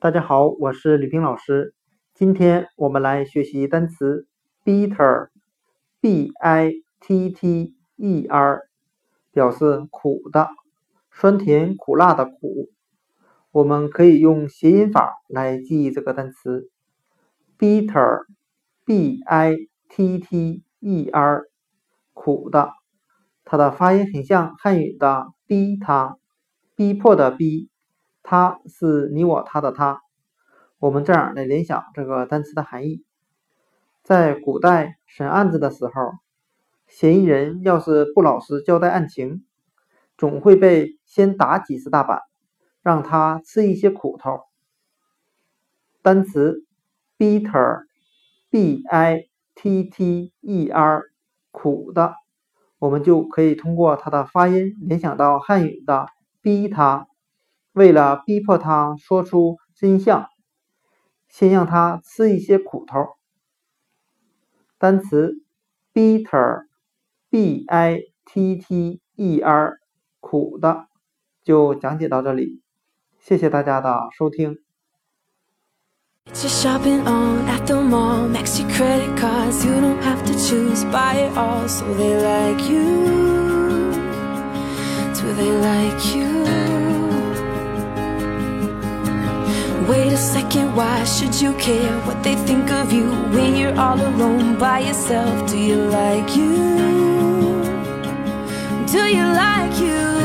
大家好，我是李平老师。今天我们来学习单词 bitter，B-I-T-T-E-R， 表示苦的，酸甜苦辣的苦。我们可以用谐音法来记忆这个单词 bitter，B-I-T-T-E-R， 苦的。它的发音很像汉语的逼他，逼迫的逼。他是你我他的他，我们这样来联想这个单词的含义。在古代审案子的时候，嫌疑人要是不老实交代案情，总会被先打几十大板，让他吃一些苦头。单词 bitter， B-I-T-T-E-R， 苦的，我们就可以通过它的发音联想到汉语的逼他。为了逼迫他说出真相，先让他吃一些苦头。单词 bitter， B-I-T-T-E-R， 苦的，就讲解到这里，谢谢大家的收听。 Shopping on at the mall, maxi credit cards, you don't have to choose, buy it all. So they like you, do they like you? Wait a second, why should you care what they think of you when you're all alone by yourself? Do you like you? Do you like you?